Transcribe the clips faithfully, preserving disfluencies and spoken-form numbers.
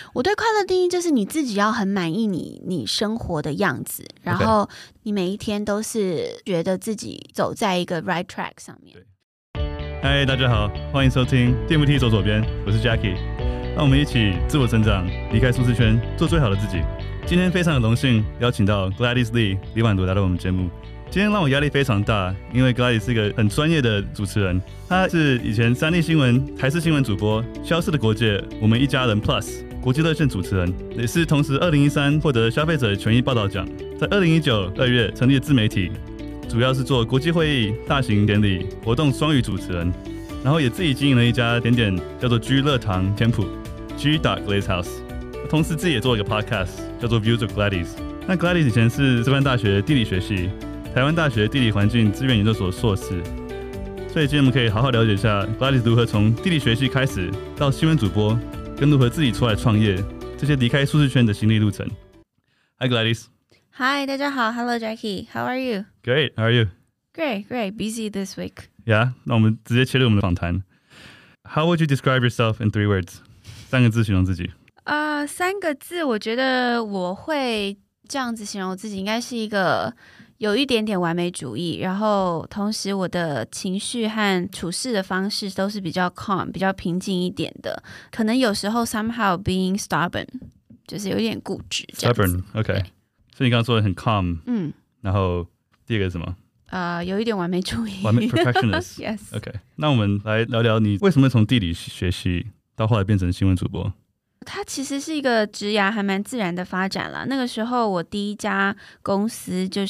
我對快樂定義就是你自己要很滿意你你生活的樣子，然後你每一天都是覺得自己走在一個 right track 上面。 嗨，大家好，歡迎收聽 D M T 走左邊，我是 Jackie， 讓我們一起自我成長，離開舒適圈，做最好的自己。今天非常的榮幸邀請到 Gladys Lee 李婉朵來到我們節目。今天讓我壓力非常大，因為 Gladys 是一個很專業的主持人，他是以前三立新聞、台視新聞主播，消失的國界、我們一家人 Plus 國際熱線主持人，也是同時二零一三獲得消費者權益報道獎，在二零一九二月成立的自媒體，主要是做國際會議、大型典禮活動雙語主持人，然後也自己經營了一家甜點叫做 G 樂堂甜譜 G Glaze House， 同時自己也做了一個 podcast 叫做 Views of Gladys。那 Gladys 以前是师範大學地理學系、台灣大學地理環境資源研究所碩士，所以今天我們可以好好了解一下 Gladys 如何從地理學系開始到新聞主播，跟如何自己出來創業，這些離開舒適圈的心路歷程。Hi Gladys。Hi， 大家好 ，Hello Jackie，How are you? Great, how are you? Great, great. Busy this week. Yeah， 那我們直接切入我們的訪談。How would you describe yourself in three words？ 三個字形容自己。 啊、uh, ，三個字，我覺得我會這樣子形容自己，應該是一個有一點點完美主義，然後同時我的情緒和處事的方式都是比較 calm、比較平靜一點的。可能有時候 somehow being stubborn， 就是有點固執。 Stubborn，OK。所以你剛剛說的很 calm， 嗯， 然後第二個是什麼？ 呃，有一點完美主義， 完美 perfectionist。Yes。OK， 那我們來聊聊你為什麼從地理學系到後來變成新聞主播？ 它其實是一個職涯還蠻自然的發展啦。那個時候我第一家公司就是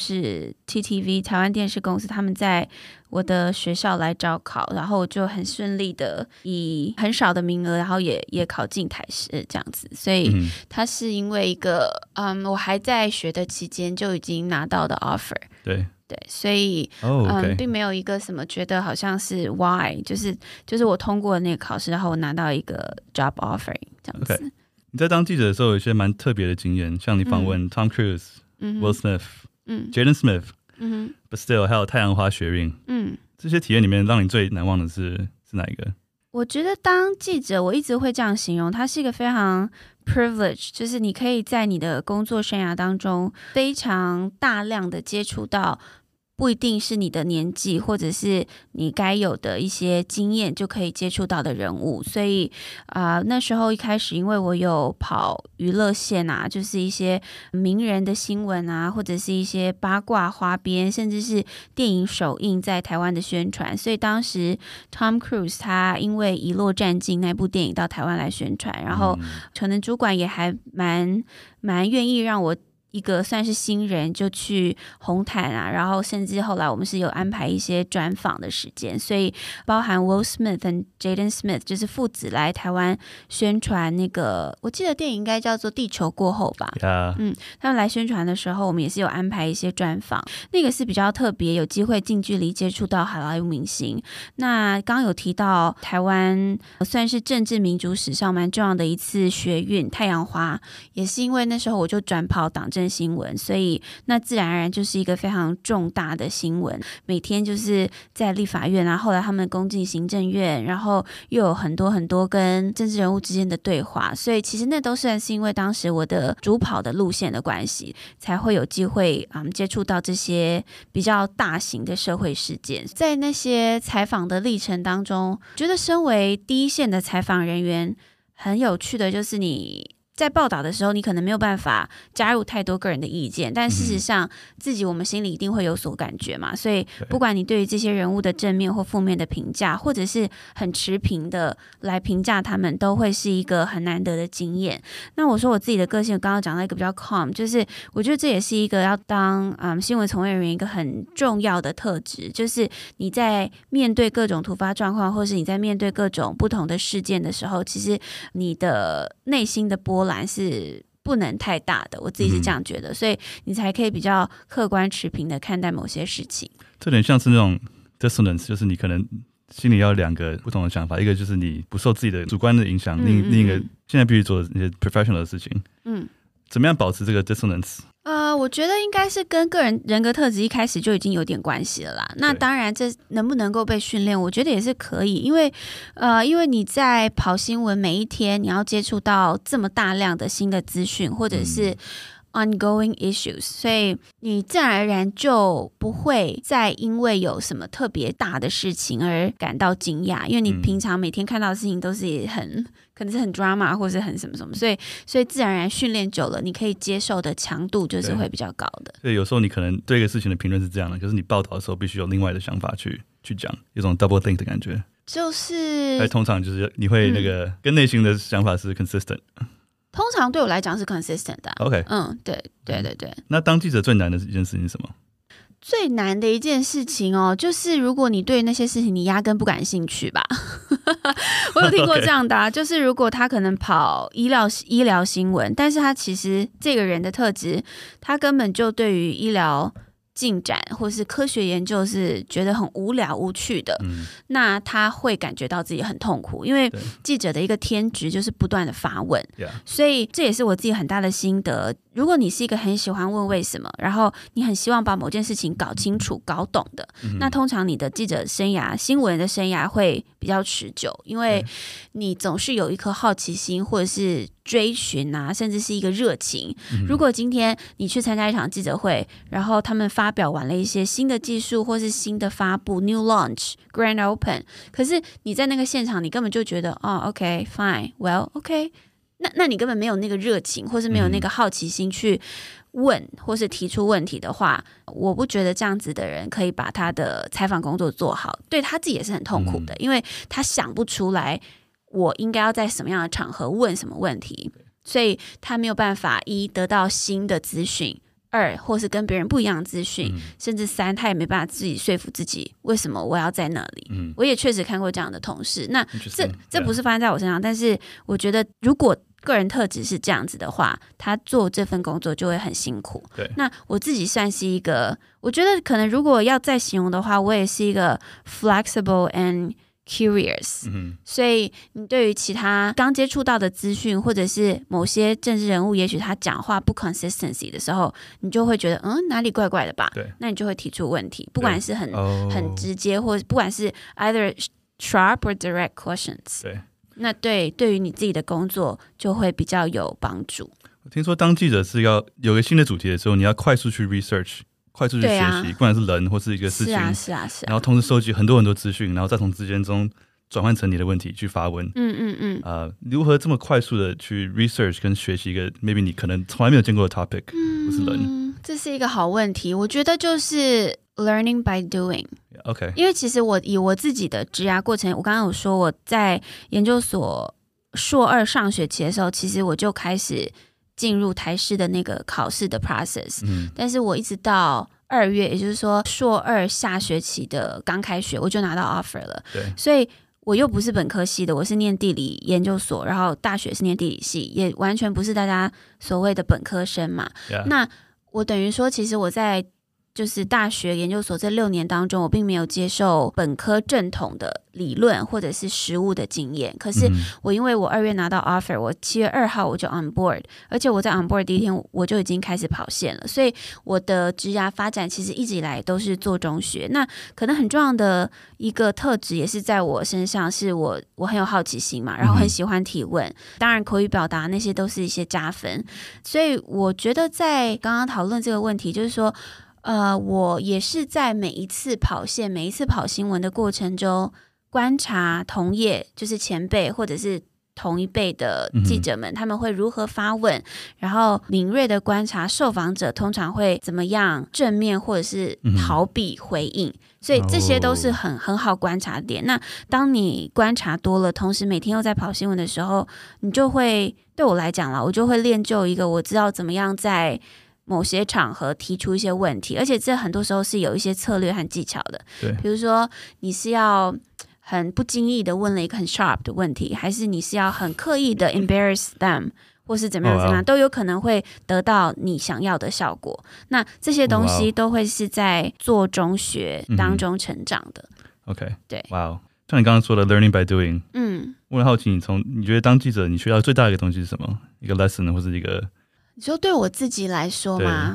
T T V 台灣電視公司，他們在我的學校來招考，然後我就很順利的以很少的名額，然後也也考進台視這樣子。所以它是因為一個嗯，我還在學的期間就已經拿到的 offer。 對。 對，所以、 oh, okay. 嗯，並沒有一個什麼覺得好像是 why， 就是就是我通過那個考試，然後我拿到一個 job offering 這樣子。Okay. 你在當記者的時候有一些蠻特別的經驗，像你訪問 Tom Cruise、Will Smith、Jaden Smith，嗯 ，But still 還有太陽花學運，嗯，這些體驗裡面讓你最難忘的是是哪一個？ 我覺得當記者，我一直會這樣形容，它是一個非常 privilege， 就是你可以在你的工作生涯當中非常大量的接觸到，不一定是你的年紀或者是你該有的一些經驗就可以接觸到的人物，所以啊、呃，那時候一開始因為我有跑娛樂線啊，就是一些名人的新聞啊，或者是一些八卦花邊，甚至是電影首映在台灣的宣傳，所以當時 Tom Cruise 他因為遺落戰境那部電影到台灣來宣傳，然後可能主管也還蠻蠻願意讓我一個算是新人就去紅毯啊，然後甚至後來我們是有安排一些專訪的時間，所以包含 Will Smith 和 Jaden Smith 就是父子來台灣宣傳那個，我記得電影應該叫做《地球過後》吧。 Yeah. 嗯，他們來宣傳的時候，我們也是有安排一些專訪，那個是比較特別，有機會近距離接觸到好萊塢明星。那剛剛有提到台灣算是政治民主史上蠻重要的一次學運太陽花，也是因為那時候我就轉跑黨政新聞，所以那自然而然就是一個非常重大的新聞，每天就是在立法院啊，後來他們攻進行政院，然後又有很多很多跟政治人物之間的對話，所以其實那都算是因為當時我的主跑的路線的關係，才會有機會嗯接觸到這些比較大型的社會事件。在那些採訪的歷程當中，覺得身為第一線的採訪人員，很有趣的就是你在報道的時候，你可能沒有辦法加入太多個人的意見，但事實上自己我們心裡一定會有所感覺嘛。所以不管你對於這些人物的正面或負面的評價，或者是很持平的來評價他們，都會是一個很難得的經驗。那我說我自己的個性，剛剛講到一個比較 calm， 就是我覺得這也是一個要當嗯新聞從業人員一個很重要的特質，就是你在面對各種突發狀況，或是你在面對各種不同的事件的時候，其實你的內心的波瀾是不能太大的，我自己是這樣覺得，嗯、所以你才可以比較客觀持平的看待某些事情。這點像是那種 dissonance， 就是你可能心裡要兩個不同的想法，一個就是你不受自己的主觀的影響，另、嗯、另一個現在必須做那些 professional 的事情。嗯，怎麼樣保持這個 dissonance？ 呃， 我覺得應該是跟個人人格特質一開始就已經有點關係了啦。那當然，這能不能夠被訓練，我覺得也是可以，因為呃，因為你在跑新聞，每一天你要接觸到這麼大量的新的資訊，或者是 ongoing issues，所以你自然而然就不會再因為有什麼特別大的事情而感到驚訝，因為你平常每天看到的事情都是很可能是很 drama 或是很什麼什麼，所以所以自然而然訓練久了，你可以接受的強度就是會比較高的。 所以有時候你可能對一個事情的評論是這樣的，可是你報道的時候必須有另外的想法去去講，有種 double think 的感覺。就是還通常就是你會那個、嗯、跟內心的想法是 consistent。 通常對我來講是 consistent 的、啊。OK， 嗯，對對对對。 那當記者最難的一件事情是什麼？ 最難的一件事情哦，就是如果你對那些事情你壓根不感興趣吧。我有聽過這樣的、啊， Okay. 就是如果他可能跑醫療醫療新聞，但是他其實這個人的特質，他根本就對於醫療進展或是科學研究是覺得很無聊無趣的、嗯，那他會感覺到自己很痛苦，因為記者的一個天職就是不斷的發問，所以這也是我自己很大的心得。如果你是一個很喜歡問為什麼，然後你很希望把某件事情搞清楚、搞懂的，嗯、那通常你的記者生涯、新聞的生涯會比較持久，因為你總是有一顆好奇心，或者是追尋啊，甚至是一個熱情。嗯、如果今天你去參加一場記者會，然後他們發表完了一些新的技術，或是新的發布 （new launch、grand open），可是你在那個現場，你根本就覺得哦 ，OK fine，well，OK。那那你根本沒有那個熱情，或是沒有那個好奇心去問，或是提出問題的話，嗯、我不覺得這樣子的人可以把他的採訪工作做好，對他自己也是很痛苦的，嗯、因為他想不出來我應該要在什麼樣的場合問什麼問題，所以他沒有辦法一得到新的資訊，二或是跟別人不一樣的資訊、嗯，甚至三他也沒辦法自己說服自己為什麼我要在那裡。嗯、我也確實看過這樣的同事，那這這不是發生在我身上，但是我覺得如果個人特質是這樣子的話，他做這份工作就會很辛苦。對，那我自己算是一個，我覺得可能如果要再形容的話，我也是一個 flexible and curious。嗯，所以你對於其他剛接觸到的資訊，或者是某些政治人物，也許他講話不 consistency 的時候，你就會覺得嗯哪裡怪怪的吧？對，那你就會提出問題，不管是很、oh. 很直接，或者不管是 either sharp or direct questions。對。那對對於你自己的工作就會比較有幫助。 我聽說當記者是要有個新的主題的時候，你要快速去 research， 快速去學習、啊，不管是人或是一個事情，是啊是啊是啊，然後同時收集很多很多資訊，然後再從之間中轉換成你的問題去發問。嗯嗯嗯。呃，如何這麼快速的去 research 跟學習一個 maybe 你可能從來沒有見過的 topic，嗯，不是人？ 這是一個好問題，我覺得就是 learning by doing。OK， 因為其實我以我自己的職涯過程，我剛剛有說我在研究所碩二上學期的時候，其實我就開始進入台師的那個考試的 process，嗯，但是我一直到二月，也就是說碩二下學期的剛開學，我就拿到 offer 了。對，所以我又不是本科系的，我是念地理研究所，然後大學是念地理系，也完全不是大家所謂的本科生嘛。Yeah. 那我等於說，其實我在就是大學研究所這六年當中，我並沒有接受本科正統的理論或者是實務的經驗。可是我因為我二月拿到 offer， 我七月二號我就 on board， 而且我在 on board 第一天我就已經開始跑線了，所以我的職涯發展其實一直以來都是做中學。那可能很重要的一個特質也是在我身上，是我我很有好奇心嘛，然後很喜歡提問，當然口語表達那些都是一些加分。所以我覺得在剛剛討論這個問題，就是說呃，我也是在每一次跑線、每一次跑新聞的過程中，觀察同業，就是前輩或者是同一輩的記者們，嗯，他們會如何發問，然後敏銳的觀察受訪者通常會怎麼樣正面或者是逃避回應，嗯，所以這些都是很很好觀察點。那當你觀察多了，同時每天又在跑新聞的時候，你就會，對我來講啦，我就會練就一個我知道怎麼樣在某些場合提出一些問題，而且這很多時候是有一些策略和技巧的。對，比如說你是要很不經意的問了一個很 sharp 的問題，還是你是要很刻意的 embarrass them， 或是怎麼樣怎麼樣， oh, wow. 都有可能會得到你想要的效果。那這些東西都會是在做中學當中成長的。 嗯、OK， 對，哇、wow. 像你剛剛說的 learning by doing， 嗯，我很好奇，你從你覺得當記者你學到最大的一個東西是什麼？一個 lesson 或是一個？ 你說對我自己來說嗎？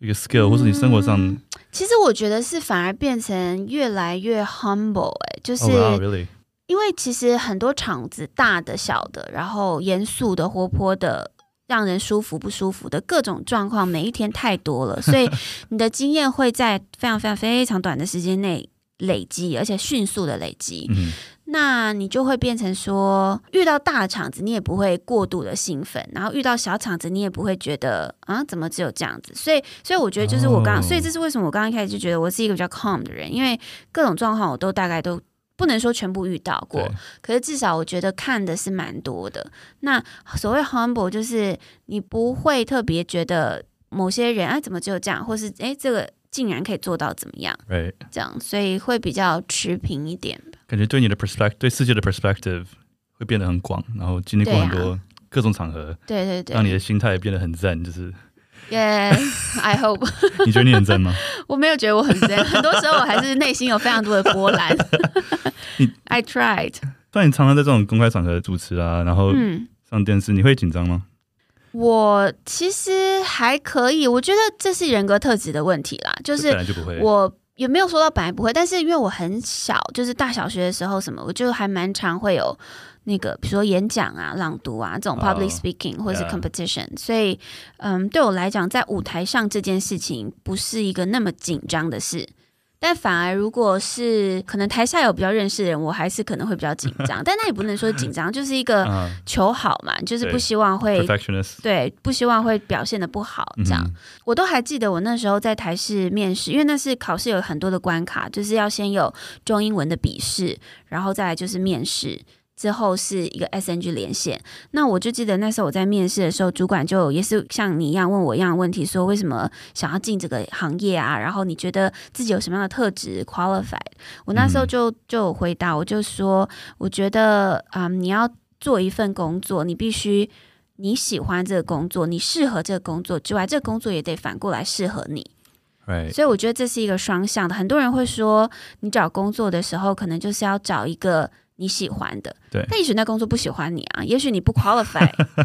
一個 skill，、嗯、或是你生活上？ 其實我覺得是反而變成越來越 humble， 哎、欸，就是。 Oh, wow, really? 因為其實很多場子，大的、小的，然後嚴肅的、活潑的，讓人舒服不舒服的各種狀況，每一天太多了，所以你的經驗會在非常非常非常短的時間內累積，而且迅速的累積。嗯、那你就會變成說，遇到大的場子，你也不會過度的興奮，然後遇到小場子，你也不會覺得啊，怎麼只有這樣子？所以，所以我覺得就是我剛剛，oh. 所以這是為什麼我剛剛一開始就覺得我是一個比較 calm 的人，因為各種狀況我都大概都。不能說全部遇到過，可是至少我覺得看的是蠻多的。那所謂 humble 就是你不會特別覺得某些人哎怎麼只有這樣，或是哎這個竟然可以做到怎麼樣，right. 這樣，所以會比較持平一點吧。感覺對你的 perspective 對世界的 perspective 會變得很廣，然後經歷過很多各種場合，對對對，讓你的心態變得很zen，就是Yeah, I hope 。你覺得你很zen嗎？我沒有覺得我很zen，很多時候我還是內心有非常多的波瀾。I tried。但你常常在這種公開場合主持啊，然後上電視，嗯、你會緊張嗎？我其實還可以，我覺得這是人格特質的問題啦，就是我本來就不會。我也沒有說到本來不會，但是因為我很小，就是大小學的時候什麼，我就還蠻常會有。那個，比如說演講啊、朗讀啊這種 public speaking、oh, 或者是 competition， yeah. 所以，嗯，對我來講，在舞台上這件事情不是一個那麼緊張的事，但反而如果是可能台下有比較認識的人，我還是可能會比較緊張，但那也不能說緊張，就是一個求好嘛，就是不希望會 perfectionist， 對，不希望會表現得不好這樣。嗯、我都還記得我那時候在台視面試，因為那是考試有很多的關卡，就是要先有中英文的筆試，然後再來就是面試。之後是一個 S N G 連線，那我就記得那時候我在面試的時候，主管就也是像你一樣問我一樣的問題，說為什麼想要進這個行業啊？然後你覺得自己有什麼樣的特質 qualified？ 我那時候就就有回答，我就說，我覺得啊、嗯，你要做一份工作，你必須你喜歡這個工作，你適合這個工作之外，這個工作也得反過來適合你。Right. 所以我覺得這是一個雙向的。很多人會說，你找工作的時候，可能就是要找一個你喜歡的，對，但也許那工作不喜歡你啊，也許你不 qualify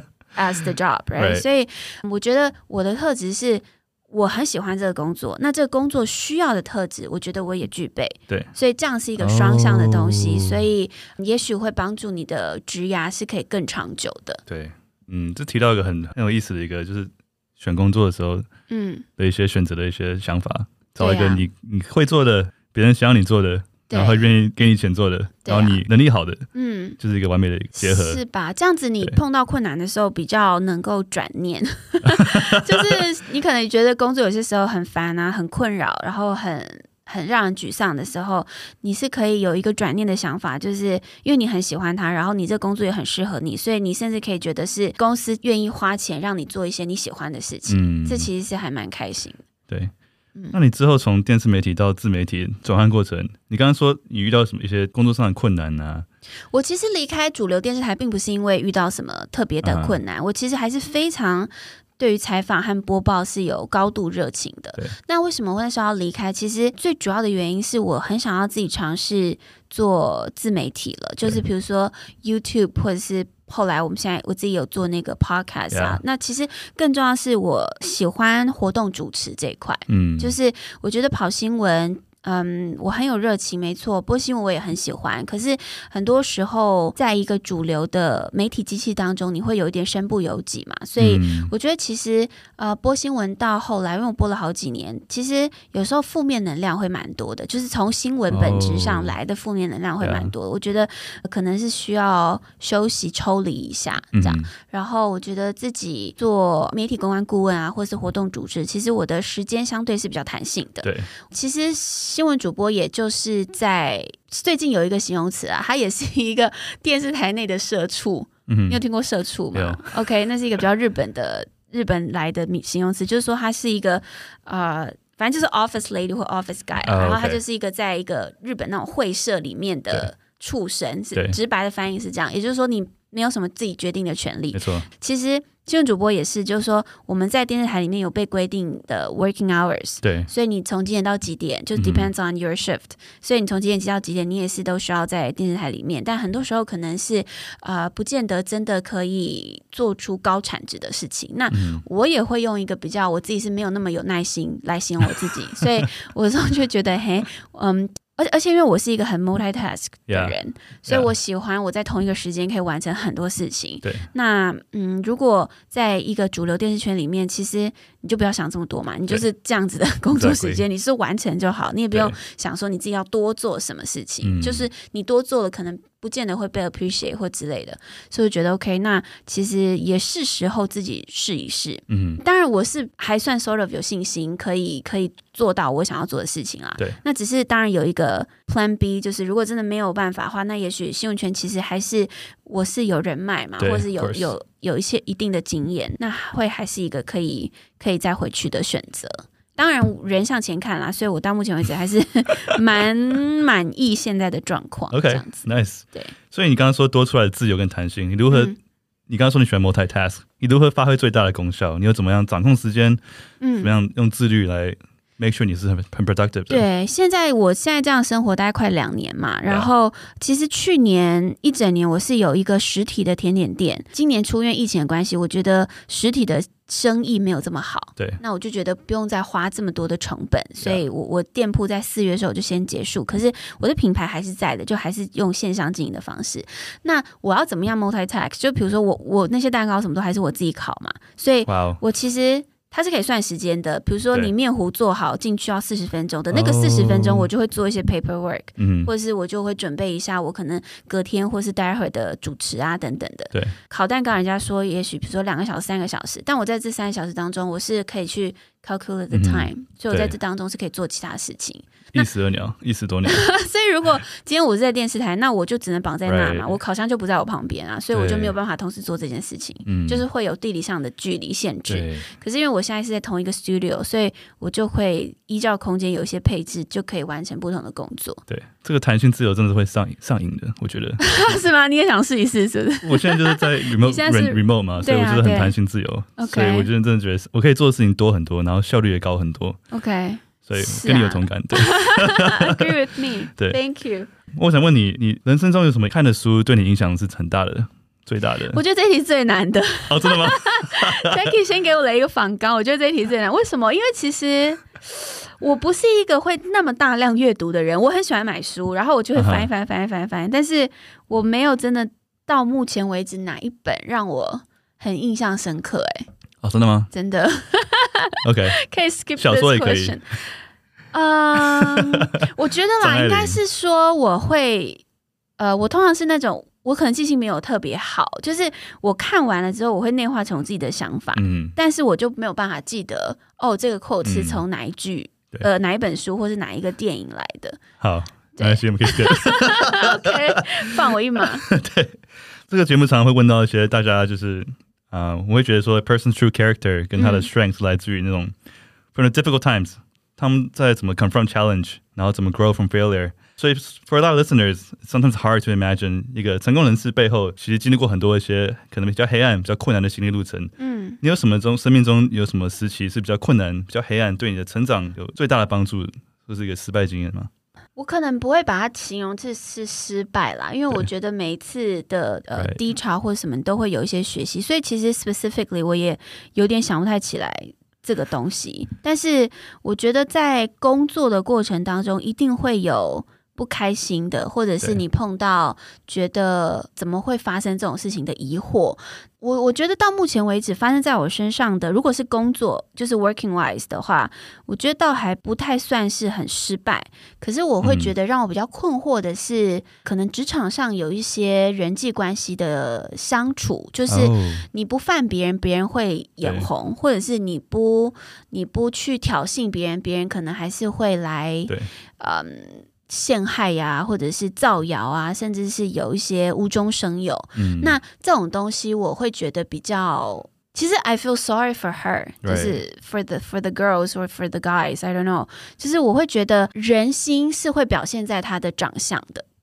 as the job，right？ Right. 所以我覺得我的特質是我很喜歡這個工作，那這個工作需要的特質，我覺得我也具備，對，所以這樣是一個雙向的東西，oh. 所以也許會幫助你的職涯是可以更長久的。對，嗯，這提到一個很很有意思的一個，就是選工作的時候，嗯，的一些選擇的一些想法，嗯、找一個你、啊、你會做的，別人想要你做的。然後願意給你錢做的，啊、然後你能力好的，嗯，就是一個完美的結合，是吧？這樣子你碰到困難的時候比較能夠轉念，就是你可能覺得工作有些時候很煩啊，很困擾，然後很很讓人沮喪的時候，你是可以有一個轉念的想法，就是因為你很喜歡它，然後你這工作也很適合你，所以你甚至可以覺得是公司願意花錢讓你做一些你喜歡的事情，嗯、這其實是還蠻開心的，對。那你之後從電視媒體到自媒體轉換過程，你剛剛說你遇到什麼一些工作上的困難啊？我其實離開主流電視台並不是因為遇到什麼特別的困難，uh-huh. 我其實還是非常對於採訪和播報是有高度熱情的。那為什麼我那時候要離開？其實最主要的原因是我很想要自己嘗試做自媒體了，就是比如說 YouTube 或者是。後來我們現在我自己有做那個 podcast 啊，yeah. 那其實更重要的是我喜歡活動主持這一塊，嗯，就是我覺得跑新聞。嗯，我很有熱情，沒錯。播新聞我也很喜歡，可是很多時候，在一個主流的媒體機器當中，你會有一點身不由己嘛。所以我覺得，其實呃，播新聞到後來，因為我播了好幾年，其實有時候負面能量會蠻多的，就是從新聞本質上來的負面能量會蠻多的。Oh, yeah. 我覺得可能是需要休息、抽離一下這樣。Mm-hmm. 然後我覺得自己做媒體公關顧問啊，或是活動主持，其實我的時間相對是比較彈性的。對，其實。新聞主播也就是在最近有一個形容詞啊，它也是一個電視台內的社畜。嗯，你有聽過社畜嗎 ？OK， 那是一個比較日本的日本來的形容詞，就是說它是一個呃，反正就是 office lady 或 office guy，、oh, okay. 然後它就是一個在一個日本那種會社裡面的畜生。是直白的翻譯是這樣，也就是說你沒有什麼自己決定的權利。 沒錯， 其實新聞主播也是，就是說我們在電視台裡面有被規定的 working hours， 對， 所以你從幾點到幾點就 depends on your shift，、嗯、所以你從幾點到幾點，你也是都需要在電視台裡面。但很多時候可能是呃，不見得真的可以做出高產值的事情。那我也會用一個比較，我自己是沒有那麼有耐心來形容我自己，所以我有時候就覺得，嘿，嗯。而而且因為我是一個很 multitask 的人， yeah, 所以我喜歡我在同一個時間可以完成很多事情。 對， 那嗯，如果在一個主流電視圈裡面，其實你就不要想這麼多嘛，你就是這樣子的工作時間，你是完成就好，你也不用想說你自己要多做什麼事情，就是你多做了可能不見得會被 appreciate 或之類的，所以我覺得 OK， 那其實也是時候自己試一試。嗯，當然我是還算 sort of 有信心，可以可以做到我想要做的事情啊。 對， 那只是當然有一個 Plan B， 就是如果真的沒有辦法的話，那也許新聞圈其實還是我是有人脈嘛，或是有有有一些一定的經驗，那會還是一個可以可以再回去的選擇。當然人向前看啦，所以我到目前為止還是蠻滿意現在的狀況。 OK， 這樣子 nice。 對， 所以你剛剛說多出來的自由跟彈性，你如何？嗯、你剛剛說你喜歡 multitask， 你如何發揮最大的功效？你又怎麼樣掌控時間？嗯，怎麼樣用自律來 make sure 你是很很 productive 的？ 對，現在我現在這樣生活大概快兩年嘛，然後其實去年一整年我是有一個實體的甜點店，今年出因為疫情的關係，我覺得實體的生意沒有這麼好， 對， 那我就覺得不用再花這麼多的成本，所以我我店鋪在四月的時候就先結束，可是我的品牌還是在的，就還是用線上經營的方式。那我要怎麼樣 multitask？ 就比如說我我那些蛋糕什麼都還是我自己烤嘛，所以我其實。它是可以算時間的，比如說你麵糊做好進去要四十分鐘的那個四十分鐘，我就會做一些 paperwork，、嗯、或者是我就會準備一下我可能隔天或是待會的主持啊等等的。 對， 烤蛋糕人家說也許比如說兩個小時、三個小時，但我在這三個小時當中，我是可以去 calculate the time，、嗯、所以我在這當中是可以做其他事情。 一石二鳥，一石多鳥。 所以如果今天我是在電視台，那我就只能綁在那嘛， right. 我烤箱就不在我旁邊啊，所以我就沒有辦法同時做這件事情，就是會有地理上的距離限制。可是因為我現在是在同一個 studio， 所以我就會依照空間有一些配置，就可以完成不同的工作。 對，這個彈性自由真的會上癮上癮的，我覺得。 是嗎？你也想試一試，是不是？ 我現在就是在 remote 現在是 remote 嘛，所以我覺得很彈性自由，啊、所以我覺得真的覺得我可以做的事情多很多，然後效率也高很多。 OK。 所以跟你有同感，對。 Agree with me， 對 ，Thank you。 我想問你，你人生中有什麼看的書對你影響是很大的、最大的？ 我覺得這一題最難的。 哦，真的嗎 ？Jackie 先給我了一個訪綱，我覺得這一題最難。為什麼？因為其實我不是一個會那麼大量閱讀的人，我很喜歡買書，然後我就會翻一翻、翻一翻、翻。但是我沒有真的到目前為止哪一本讓我很印象深刻、欸。哎， 哦，真的嗎？ 真的。 OK， 可以 skip 小說也可以。 嗯， um, 我覺得啦，應該是說我會，呃，我通常是那種，我可能記性沒有特別好，就是我看完了之後，我會內化成我自己的想法，嗯，但是我就沒有辦法記得，哦，這個 quote 是從哪一句，嗯、呃，哪一本書或是哪一個電影來的。 好，沒關係，我們可以 skip。 OK， 放我一馬。 對，這個節目常常會問到一些大家就是。啊、uh, 我會覺得說 person's true character 跟他的 strength 來自於那種、嗯、from the difficult times， 他們在怎麼 confront challenge， 然後怎麼 grow from failure。所以 for a lot of listeners, sometimes hard to imagine 一個成功人士背後其實經歷過很多一些可能比較黑暗、比較困難的心理路程。嗯，你有什麼中生命中有什麼時期是比較困難、比較黑暗，對你的成長有最大的幫助，或是一個失敗經驗嗎？ 我可能不會把它形容這是失敗啦，因為我覺得每一次的呃低潮或者什麼都會有一些學習，所以其實 specifically 我也有點想不太起來這個東西。但是我覺得在工作的過程當中，一定會有不開心的，或者是你碰到覺得怎麼會發生這種事情的疑惑。我我覺得到目前為止發生在我身上的，如果是工作就是 working wise 的話，我覺得倒還不太算是很失敗。可是我會覺得讓我比較困惑的是，嗯、可能職場上有一些人際關係的相處，就是你不犯別人，別人會眼紅，或者是你不你不去挑釁別人，別人可能還是會來，嗯。陷害呀、啊，或者是造謠啊，甚至是有一些無中生有。嗯，那這種東西我會覺得比較，其實 I feel sorry for her， 就是 for the for the girls or for the guys，I don't know， 就是我會覺得人心是會表現在他的長相的。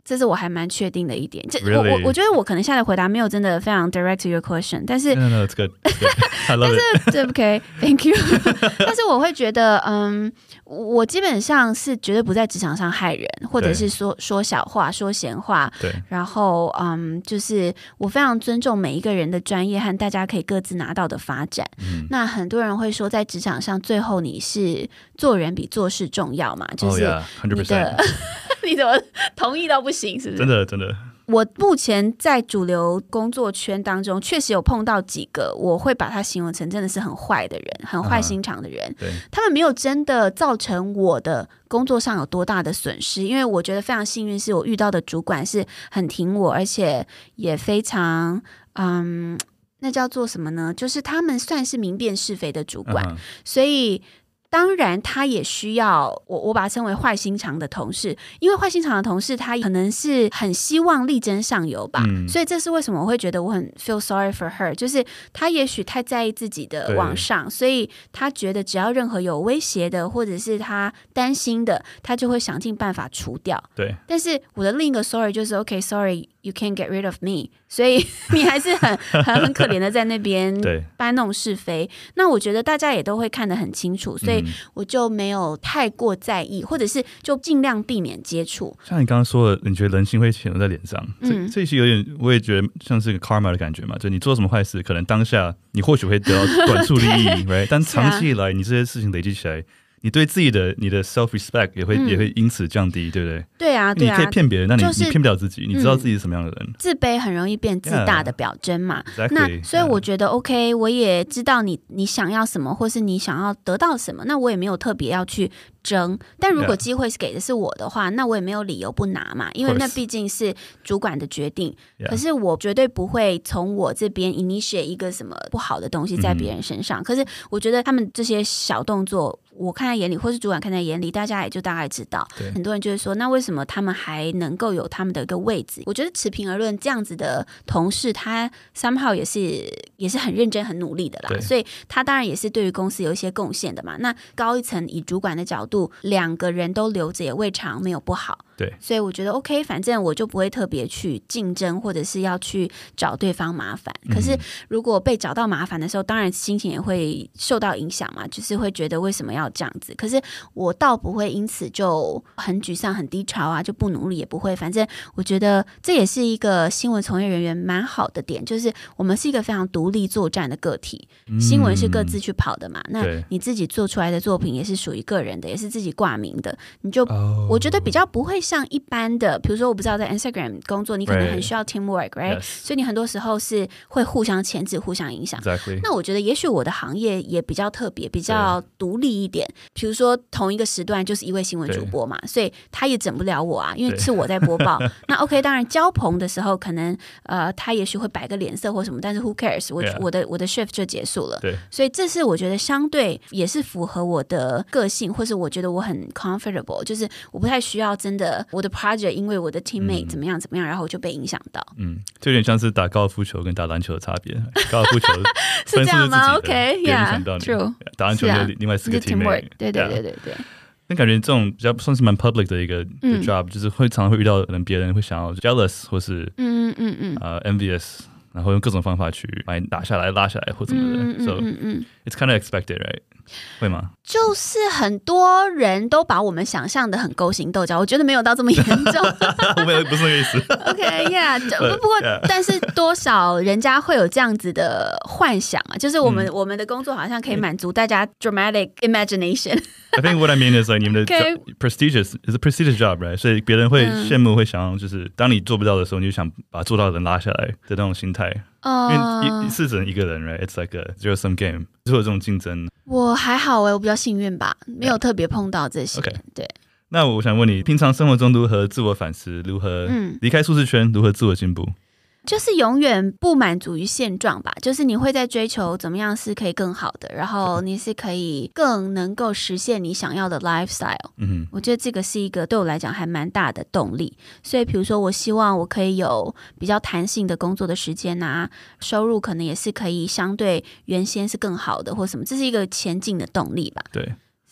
這是我還蠻確定的一點。這 Really? 我我我覺得我可能下的回答沒有真的非常 direct to your question， 但是 no no it's good, it's good. I love it. 但是對 OK thank you 但是我會覺得嗯，我基本上是絕對不在職場上害人，或者是說說小話說閒話，對，然後嗯，就是我非常尊重每一個人的專業和大家可以各自拿到的發展。嗯、那很多人會說在職場上最後你是做人比做事重要嘛，就是你的、oh yeah, one hundred percent. 你怎麼同意到不行是不是？真的真的。我目前在主流工作圈當中，確實有碰到幾個，我會把他形容成真的是很壞的人，很壞心腸的人。Uh-huh. 他們沒有真的造成我的工作上有多大的損失，因為我覺得非常幸運，是我遇到的主管是很挺我，而且也非常嗯，那叫做什麼呢？就是他們算是明辨是非的主管，uh-huh. 所以。當然，他也需要我，我把他稱為壞心腸的同事，因為壞心腸的同事，他可能是很希望力爭上游吧，嗯、所以這是為什麼我會覺得我很 feel sorry for her，就是他也許太在意自己的往上，所以他覺得只要任何有威脅的，或者是他擔心的，他就會想盡辦法除掉。對，但是我的另一個 sorry 就是 OK sorry you can't get rid of me， 所以你還是很很很可憐的在那邊搬弄是非。那我覺得大家也都會看得很清楚，所以。我就沒有太過在意，或者是就盡量避免接觸。像你剛剛說的，你覺得人性會顯露在臉上，嗯、這這些有點，我也覺得像是個 karma 的感覺嘛。就你做什麼壞事，可能當下你或許會得到短處利益，right？ 但長期以來，你這些事情累積起來。你對自己的你的 self respect 也會、嗯、也會因此降低，對不對？對啊，對啊。你可以騙別人，那你、就是、你騙不了自己，你知道自己是什麼樣的人。嗯、自卑很容易變自大的表徵嘛。Yeah, exactly, 那所以我覺得 OK， 我也知道你你想要什麼，或是你想要得到什麼，那我也沒有特別要去爭。但如果機會是給的是我的話，那我也沒有理由不拿嘛，因為那畢竟是主管的決定。可是我絕對不會從我這邊 initiate 一個什麼不好的東西在別人身上。嗯、可是我覺得他們這些小動作。我看在眼裡，或是主管看在眼裡，大家也就大概知道。很多人就會說，那為什麼他們還能夠有他們的一個位置？我覺得持平而論，這樣子的同事，他 somehow 也是也是很認真、很努力的啦。所以他當然也是對於公司有一些貢獻的嘛。那高一層以主管的角度，兩個人都留着也未嘗沒有不好。對，所以我覺得 OK， 反正我就不會特別去競爭，或者是要去找對方麻煩。可是如果被找到麻煩的時候，當然心情也會受到影響嘛，就是會覺得為什麼要這樣子？可是我倒不會因此就很沮喪、很低潮啊，就不努力也不會。反正我覺得這也是一個新聞從業人員蠻好的點，就是我們是一個非常獨立作戰的個體。新聞是各自去跑的嘛，那你自己做出來的作品也是屬於個人的，也是自己掛名的，你就我覺得比較不會像一般的，比如說我不知道在 Instagram 工作，你可能很需要 teamwork， right？ 所以你很多時候是會互相牽制、互相影響。Exactly. 那我覺得也許我的行業也比較特別、比較獨立一點。比如說同一個時段就是一位新聞主播嘛，所以他也整不了我啊，因為是我在播報。那 OK， 當然交棚的時候可能呃他也許會擺個臉色或什麼，但是 who cares？ 我、yeah. 我的我的 shift 就結束了。對，所以這是我覺得相對也是符合我的個性，或是我覺得我很 comfortable， 就是我不太需要真的。我的 project 因為我的 teammate 怎麼樣怎麼樣，嗯、然後我就被影響到。嗯，就有點像是打高爾夫球跟打籃球的差別。高爾夫球是這樣嗎 ？OK，Yeah，True。打籃球有另外四個 teammate。對對對對對。那感覺這種比較算是蠻 public 的一個、嗯、job， 就是會常常會遇到人，別人會想要 jealous 或是嗯嗯嗯呃 envious， 然後用各種方法去把你打下來、拉下來或怎麼的。嗯嗯 So it's kind of expected, right？會嗎？就是很多人都把我們想象的很勾心鬥角，我覺得沒有到這麼嚴重。我沒有，不是那個意思。OK，Yeah，、okay, 不過、yeah. 但是多少人家會有這樣子的幻想嘛？就是我們、嗯、我們的工作好像可以滿足大家 dramatic imagination。I think what I mean is like 你們的 prestigious is a prestigious job, right？ 所以別人會羨慕，會想要就是當你做不到的時候，你就想把做到的人拉下來的那種心態。Uh, 因為一是只能一個人 right? It's like a zero sum game， 就有這種競爭。我還好哎、欸，我比較幸運吧，沒有特別碰到這些。Yeah. Okay. 對。那我想問你，平常生活中如何自我反思？如何離開舒適圈？如何自我進步？就是永遠不滿足於現狀吧，就是你會在追求怎麼樣是可以更好的，然後你是可以更能夠實現你想要的 lifestyle。嗯，我覺得這個是一個對我來講還蠻大的動力。所以比如說我希望我可以有比較彈性的工作的時間啊，收入可能也是可以相對原先是更好的或什麼，這是一個前進的動力吧。對。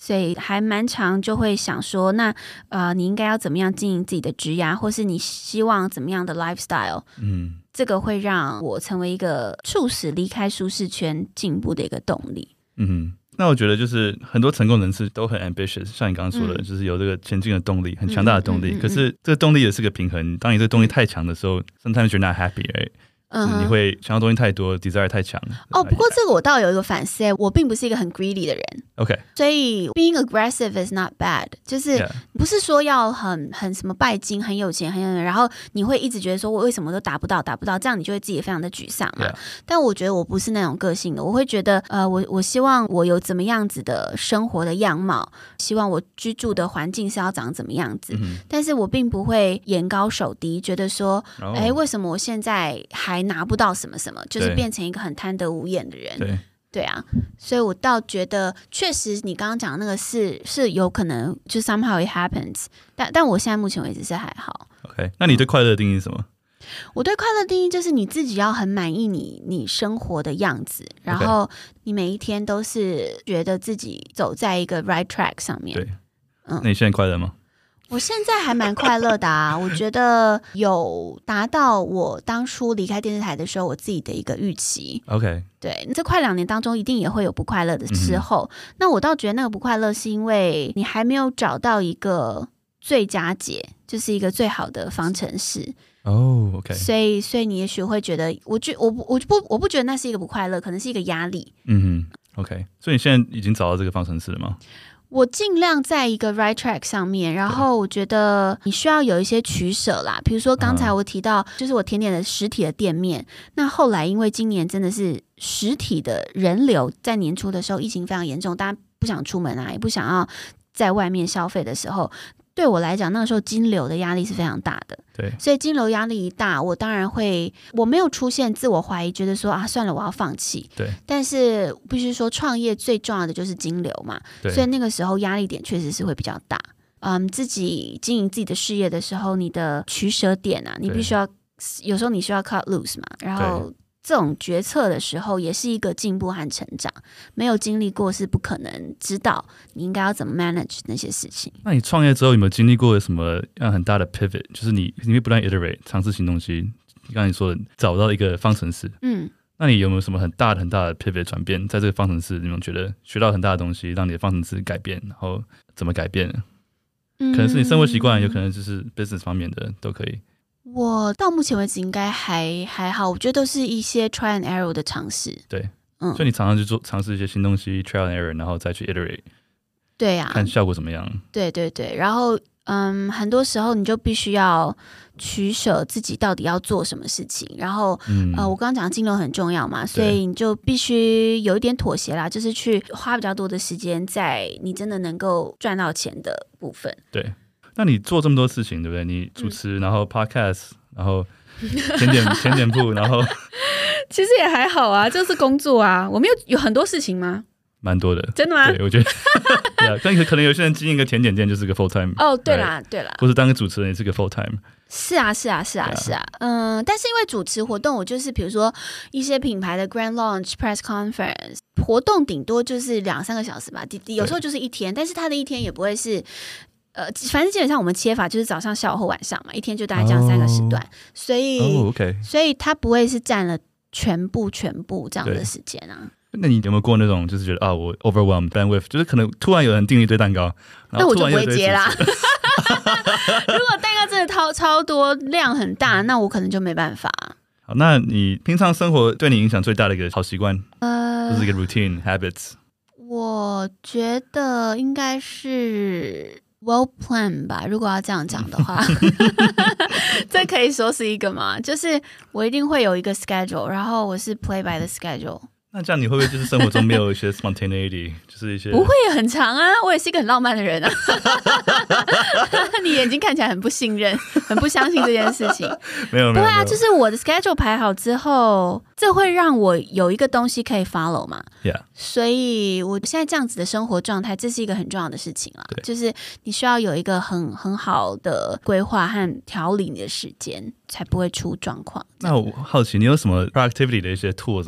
所以還蠻常就會想說，那呃，你應該要怎麼樣經營自己的職涯，或是你希望怎麼樣的 lifestyle？嗯，這個會讓我成為一個促使離開舒適圈進步的一個動力。 嗯，那我覺得就是很多成功人士都很 ambitious， 像你剛剛說的，嗯、就是有這個前進的動力，很強大的動力。嗯嗯嗯嗯、可是這個動力也是個平衡，當你這個動力太強的時候、嗯、，sometimes you're not happy，、right? 嗯，你會想要東西太多 ，desire 太強。 哦，不過這個我倒有一個反思，我並不是一個很 greedy 的人。OK， 所以 being aggressive is not bad， 就是不是說要很很什麼拜金、很有錢、很有錢，然後你會一直覺得說我為什麼都達不到、達不到，這樣你就會自己非常的沮喪嘛。Yeah. 但我覺得我不是那種個性的，我會覺得呃，我我希望我有怎麼樣子的生活的樣貌，希望我居住的環境是要長怎麼樣子，嗯、但是我並不會眼高手低，覺得說，哎、oh.，為什麼我現在還拿不到什麼什麼，就是變成一個很貪得無厭的人。對，對啊，所以我倒覺得，確實你剛剛講的那個是是有可能，就 somehow it happens， 但但我現在目前為止是還好。OK， 那你對快樂的定義是什麼？嗯、 我對快樂的定義就是你自己要很滿意你你生活的樣子，然後你每一天都是覺得自己走在一個 right track 上面。對，嗯， 那你現在快樂嗎？ 我現在還蠻快樂的啊，我覺得有達到我當初離開電視台的時候我自己的一個預期。OK， 對，這快兩年當中一定也會有不快樂的時候，嗯、那我倒覺得那個不快樂是因為你還沒有找到一個最佳解，就是一個最好的方程式。哦、oh, OK， 所以所以你也許會覺得，我覺我不我不我不覺得那是一個不快樂，可能是一個壓力。嗯哼 ，OK， 所以你現在已經找到這個方程式了嗎？我盡量在一個 right track 上面，然後我覺得你需要有一些取捨啦。比如說剛才我提到，就是我甜點的實體的店面，那後來因為今年真的是實體的人流在年初的時候疫情非常嚴重，大家不想出門啊，也不想要在外面消費的時候，對我來講，那個時候金流的壓力是非常大的。對，所以金流壓力一大，我當然會，我沒有出現自我懷疑，覺得說啊，算了，我要放棄。對，但是必須說，創業最重要的就是金流嘛。對，所以那個時候壓力點確實是會比較大。嗯，自己經營自己的事業的時候，你的取捨點啊，你必須要，有時候你需要 cut loose 嘛，然後。這種決策的時候也是一個進步和成長，沒有經歷過是不可能知道你應該要怎麼 manage 那些事情。那你創業之後有沒有經歷過什麼樣很大的 pivot？ 就是你你會不斷 iterate 嘗試新東西，剛才你說的找到一個方程式。嗯，那你有沒有什麼很大的很大的 pivot 轉變？在這個方程式，你們覺得學到很大的東西，讓你的方程式改變，然後怎麼改變呢？嗯，可能是你生活習慣，有可能就是 business 方面的都可以。我到目前為止應該還還好，我覺得都是一些 try and error 的嘗試。對，嗯，所以你常常去做嘗試一些新東西 try and error，然後再去 iterate。對呀、啊，看效果怎麼樣。對對對，然後嗯，很多時候你就必須要取捨自己到底要做什麼事情，然後、嗯、呃，我剛剛講的金流很重要嘛，所以你就必須有一點妥協啦，就是去花比較多的時間在你真的能夠賺到錢的部分。對。那你做這麼多事情，對不對？你主持，嗯、然後 podcast， 然後甜點甜點鋪，然後其實也還好啊，就是工作啊。我們有有很多事情嗎？蠻多的，真的嗎？對，我覺得，對啊，但可能有些人經營一個甜點店就是個 full time。哦，對啦，對啦，或是當個主持人也是個 full time。是啊，是啊，是啊，是啊，嗯，但是因為主持活動，我就是比如說一些品牌的 grand launch press conference 活動，頂多就是兩三個小時吧，有時候就是一天，但是他的一天也不會是。呃，反正基本上我們切法就是早上、下午或晚上嘛，一天就大概這樣三個時段， oh, 所以、oh, okay. 所以它不會是佔了全部全部這樣的時間啊。那你有沒有過那種就是覺得啊，我 overwhelmed bandwidth， 就是可能突然有人訂一堆蛋糕，那我就不會接啦。如果蛋糕真的超超多量很大，那我可能就沒辦法。好，那你平常生活對你影響最大的一個好習慣，呃，就是一個 routine habits。我覺得應該是。Well planned 吧，如果要這樣講的話，這可以說是一個嘛，就是我一定會有一個 schedule， 然後我是 play by the schedule。那這樣你會不會就是生活中沒有一些 spontaneity， 就是一些不會很長啊？我也是一個很浪漫的人啊。你眼睛看起來很不信任，很不相信這件事情。沒有，沒有，不會啊，就是我的 schedule 排好之後，這會讓我有一個東西可以 follow 嘛。Yeah。所以我現在這樣子的生活狀態，這是一個很重要的事情啊。就是你需要有一個很很好的規劃和調理你的時間，才不會出狀況。那我好奇，你有什麼 productivity 的一些 tools 嗎？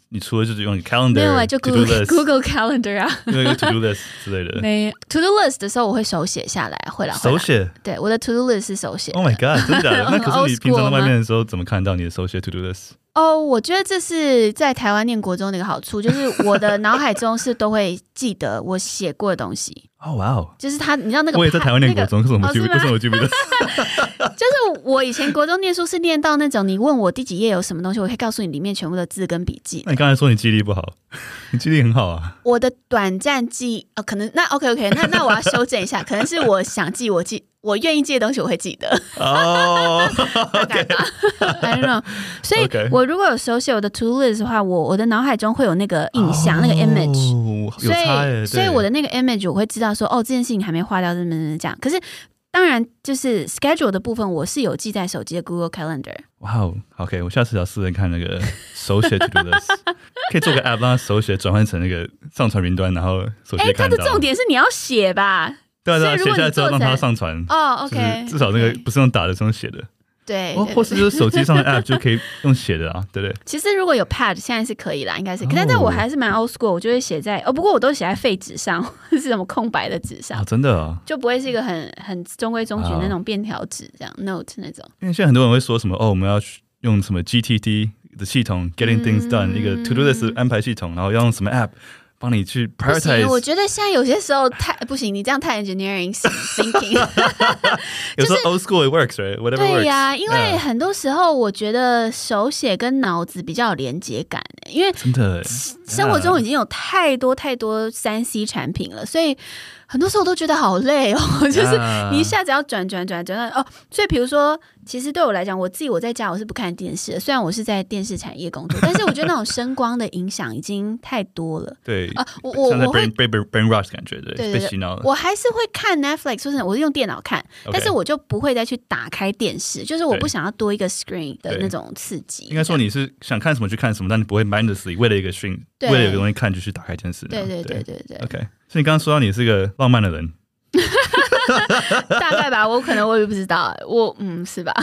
你除了就是用 calendar 沒有啊，就 Google list, Google Calendar 啊， 那個 to do list 之類的。 沒 to do list 的時候我會手寫下來，會啦， 手寫。 對，我的 to do list 是手寫。 Oh my god， 真的假的？那可是你平常在外面的時候怎麼看到你的手寫 to do list？ 哦， oh, 我覺得這是在台灣念國中的一個好處，就是我的腦海中是都會記得我寫過的東西。哦，哇哦！就是他，你知道那個， 我也在台灣念國中，可是我沒記，可是我記不得。 就是我以前國中念書是念到那種，你問我第幾頁有什麼東西，我可以告訴你裡面全部的字跟筆記。 那你剛才說你記憶力不好，你記憶力很好啊。 我的短暫記憶，哦，可能那 OK OK，那那我要修正一下，可能是我想記我記。我願意記的東西我會記得哦， 大概吧，I don't know。所以我如果有手寫我的 to list 的話，我我的腦海中會有那個印象，那個 image，所以所以我的那個 image 我會知道說，哦，這件事情還沒劃掉，怎麼怎麼這樣。可是當然就是 schedule 的部分，我是有記在手機的 Google Calendar。 哇哦 ，OK， 我下次要試試看那個手寫 to do list， 可以做個 app 讓它手寫轉換成那個上傳雲端，然後手機看到。哎，它的重點是你要寫吧。 對啊，對啊，寫下來之後讓它上傳哦 ，OK， 至少那個不是用打的，是用寫的。 對， 哦，或是就是手機上的 app 就可以用寫的啊，對不對？ 其實如果有 pad， 現在是可以啦，應該是。但是我還是蠻 old school，我就會寫在哦，不過我都寫在廢紙上，是什麼空白的紙上， 真的啊， 就不會是一個很很中規中矩那種便條紙這樣 note 那種。 因為現在很多人會說什麼哦，我們要用什麼 G T D 的系統 ，Getting Things Done，一個 to do list 安排系統，然後要用什麼 app。幫你去 prioritize。 我覺得現在有些時候太不行，你這樣太 engineering thinking。 有時候 old school it works，right？Whatever works。 對呀，因為很多時候我覺得手寫跟腦子比較有連接感，因為真的生活中已經有太多太多三 C 產品了，所以很多時候我都覺得好累哦，就是你一下子要轉轉轉轉到哦，所以比如說，其實對我來講，我自己我在家我是不看電視的，雖然我是在電視產業工作，但是我覺得那種聲光的影響已經太多了。 對啊，我我我會被 brain brain rush 感覺，對， 對對被洗腦了。 我還是會看 Netflix， 或者我是用電腦看， okay. 但是我就不會再去打開電視，就是我不想要多一個 screen 的那種刺激。應該說你是想看什麼去看什麼，但你不會 mindlessly 為了一個 screen， 為了有個東西看就去打開電視。 對對對對對。 OK， 所以你剛剛說到你是個浪漫的人。 大概吧，我可能我也不知道，我嗯是吧？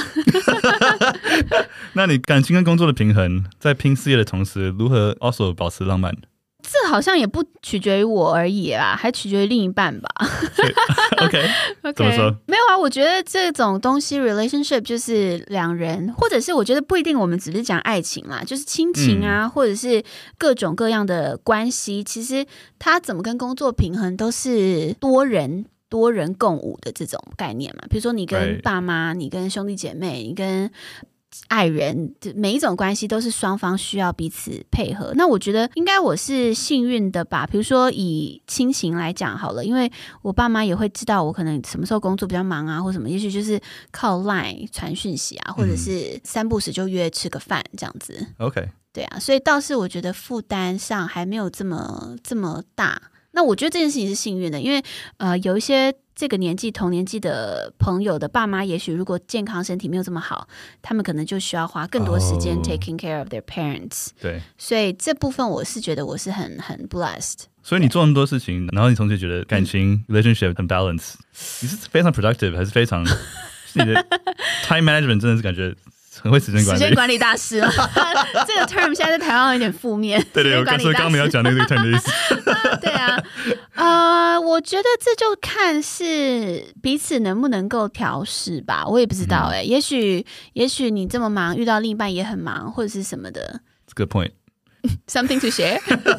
那你感情跟工作的平衡，在拼事業的同時，如何 also 保持浪漫？ 這好像也不取決於我而已啦，還取決於另一半吧。 OK， 怎麼說？ 沒有啊，我覺得這種東西 relationship 就是兩人，或者是我覺得不一定，我們只是講愛情啦，就是親情啊，嗯、或者是各種各樣的關係，其實它怎麼跟工作平衡，都是多人。多人共舞的這種概念嘛，比如說你跟爸媽、Right. 你跟兄弟姐妹、你跟愛人，每一種關係都是雙方需要彼此配合。那我覺得應該我是幸運的吧。比如說以親情來講好了，因為我爸媽也會知道我可能什麼時候工作比較忙啊，或什麼，也許就是靠 Line 傳訊息啊，或者是三不時就約吃個飯這樣子。 OK， 對啊，所以倒是我覺得負擔上還沒有這麼這麼大。那我覺得這件事情是幸運的，因為呃，有一些這個年紀同年紀的朋友的爸媽，也許如果健康身體沒有這麼好，他們可能就需要花更多時間 taking care of their parents。 對， 所以這部分我是覺得我是很很 blessed。 所以你做那麼多事情，然後你同時覺得感情、嗯、relationship 很 balance，你是非常 productive 還是非常你的 time management 真的是感覺很會時間管理， 時間管理大師了。這個 term 現在在台灣有點負面。 對對，我剛說剛沒有講那個 term 的意思。 對啊，呃，我覺得這就看是彼此能不能夠調適吧，我也不知道哎、欸嗯，也許也許你這麼忙，遇到另一半也很忙，或者是什麼的。 Good point. Something to share.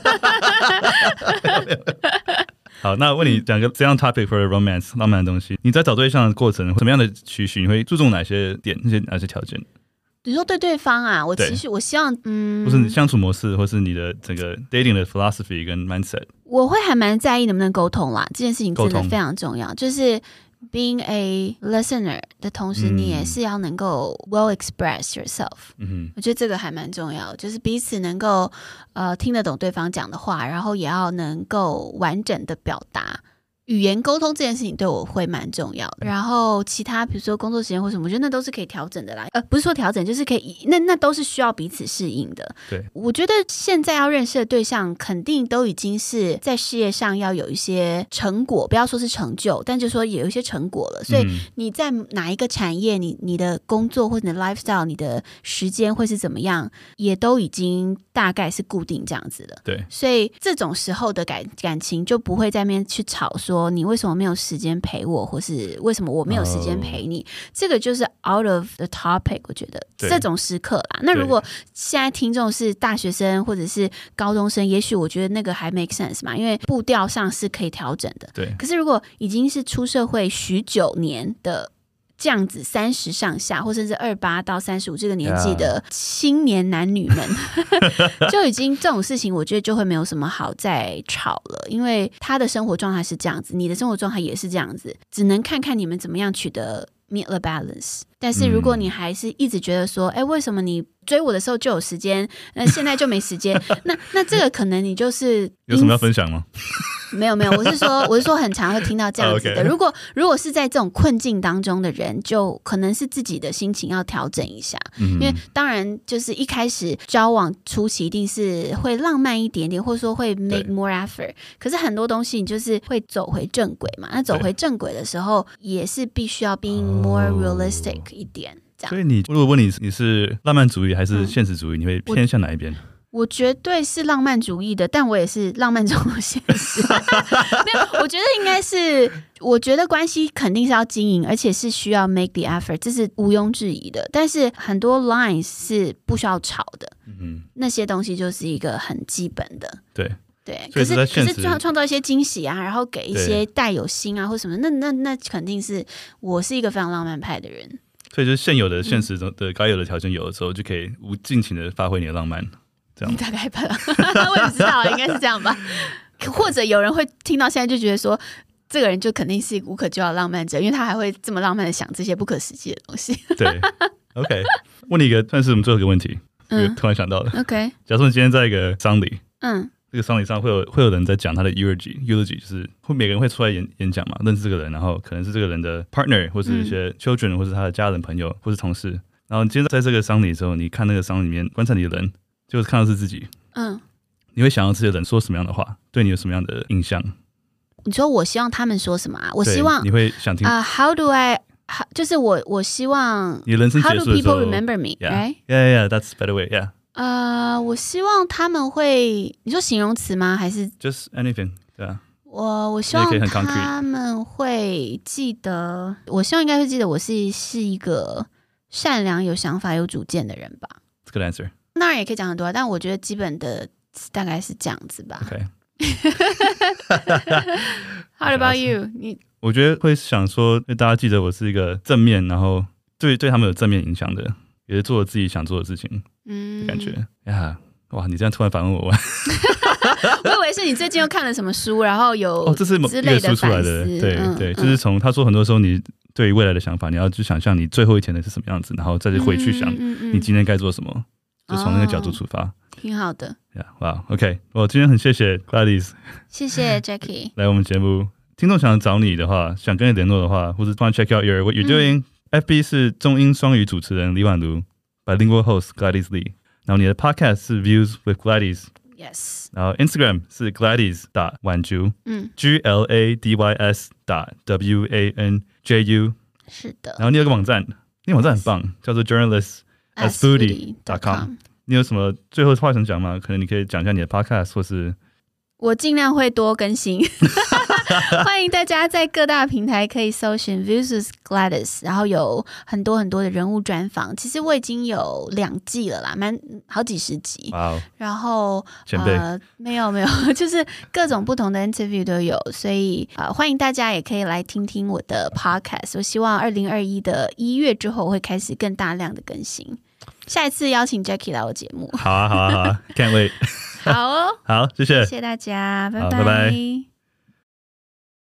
好，那我問你講個這樣 topic for romance 浪漫的東西，你在找對象的過程，什麼樣的期許，你會注重哪些點，那些哪些條件？ 你說對對方啊，我其實我希望，嗯， 或是你相處模式，或是你的整個 dating 的 philosophy 跟 mindset，我會還蠻在意能不能溝通啦，這件事情真的非常重要，就是 being a listener 的同時，你也是要能夠 well express yourself。嗯哼，我覺得這個還蠻重要，就是彼此能夠呃聽得懂對方講的話，然後也要能夠完整的表達語言溝通這件事情對我會蠻重要的，然後其他比如說工作時間或什麼，我覺得那都是可以調整的啦。呃，不是說調整，就是可以，那那都是需要彼此適應的。 對，我覺得現在要認識的對象，肯定都已經是在事業上要有一些成果，不要說是成就，但就說也有一些成果了。所以你在哪一個產業，你你的工作或者你的 lifestyle，你的時間會是怎麼樣，也都已經大概是固定這樣子的。 對， 所以這種時候的感感情就不會在那邊去吵說。說你為什麼沒有時間陪我，或是為什麼我沒有時間陪你？ oh. 這個就是 out of the topic。我覺得這種時刻啦。那如果現在聽眾是大學生或者是高中生，也許我覺得那個還 make sense 嘛，因為步調上是可以調整的。 對。可是如果已經是出社會許久年的這樣子，三十上下，或甚至二八到三十五這個年紀的青年男女們， Yeah. 就已經這種事情，我覺得就會沒有什麼好再吵了，因為他的生活狀態是這樣子，你的生活狀態也是這樣子，只能看看你們怎麼樣取得 meet the balance。但是如果你還是一直覺得說，哎、嗯，為什麼你追我的時候就有時間，那現在就沒時間？那那這個可能你就是有什麼要分享嗎？ 沒有沒有，我是說我是說很常會聽到這樣子的。 Okay. 如果如果是在這種困境當中的人，就可能是自己的心情要調整一下。嗯、因為當然就是一開始交往初期一定是會浪漫一點點，或者說會 make more effort。可是很多東西你就是會走回正軌嘛。那走回正軌的時候，也是必須要 being more realistic 一點。這樣。 所以你如果問你你是浪漫主義還是現實主義，嗯、你會偏向哪一邊？ 我絕對是浪漫主義的，但我也是浪漫中的現實。沒有，我覺得應該是，我覺得關係肯定是要經營，而且是需要 make the effort， 這是毋庸置疑的。但是很多 lines 是不需要吵的，嗯，那些東西就是一個很基本的。 對對，可是可是創創造一些驚喜啊，然後給一些帶有心啊或什麼，那那那肯定是我是一個非常浪漫派的人。 所以就是現有的現實中的該有的條件有的時候，就可以無盡情的發揮你的浪漫。這樣你大概吧，我也不知道，應該是這樣吧。或者有人會聽到現在就覺得說，這個人就肯定是一個無可救藥的浪漫者，因為他還會這麼浪漫的想這些不可實際的東西。對 ，OK， 問你一個，算是我們最後一個問題，嗯，突然想到的。OK， 假設你今天在一個喪禮，嗯，這個喪禮上會有會有人在講他的 eulogy，eulogy 就是會每個人會出來演演講嘛，認識這個人，然後可能是這個人的 partner， 或是一些 children，、嗯、或是他的家人朋友，或是同事。然後你今天在這個喪禮的時候，你看那個喪禮裡面觀察你的人。就是看到是自己，嗯，你會想要這些人說什麼樣的話，對你有什麼樣的印象？ 你說我希望他們說什麼啊？我希望你會想聽啊、 uh, ？How do I？就是我我希望你人生結束的時候 ，How do people remember me？ Yeah, right? yeah, yeah, that's a better way. Yeah. 呃，我希望他們會，你說形容詞嗎？還是 just anything？ 對啊。 我我希望他們會記得，我希望應該會記得我是是一個善良、有想法、有主見的人吧。 That's a good answer. 當然也可以講很多，但我覺得基本的大概是這樣子吧。 Okay. How about you？ 你我覺得會想說，大家記得我是一個正面，然後對對他們有正面影響的，也是做了自己想做的事情，嗯，感覺呀，哇！你這樣突然反問我， 我以為是你最近又看了什麼書，然後有哦，這是之類的書出來的，對、嗯、對，就是從他說很多時候你對於未來的想法，你要去想象你最後一天的是什麼樣子，然後再回去想你今天該做什麼。就從那個角度出發，哦、挺好的。Yeah, wow, OK， 我今天很謝謝 Gladys， 謝謝 Jackie 來我們節目。聽眾想找你的話，想跟你聯絡的話，或者幫 check out your what you're doing、嗯。F B 是中英雙語主持人李婉如 ，bilingual host Gladys Lee。然後你的 podcast 是 Views with Gladys。Yes。然後 Instagram 是 Gladys 打婉珠，嗯 ，G L A D Y S 打 W A N J U。是的。然後你有個網站，那個網站很棒，叫做 Journalist。as foodie dot com， 你有什麼最後話想講嗎？可能你可以講一下你的 podcast， 或是我盡量會多更新。歡迎大家在各大平台可以搜尋 Views with Gladys， 然後有很多很多的人物專訪。其實我已經有兩季了啦，蠻好幾十集。Wow， 然後前輩、呃、沒有沒有，就是各種不同的 interview 都有，所以、呃、歡迎大家也可以來聽聽我的 podcast。我希望二零二一的一月之後我會開始更大量的更新。下一次邀請 Jackie 來我節目。好啊，好啊，好啊，Can't wait。好哦，好，謝謝，謝謝大家，拜拜。拜拜。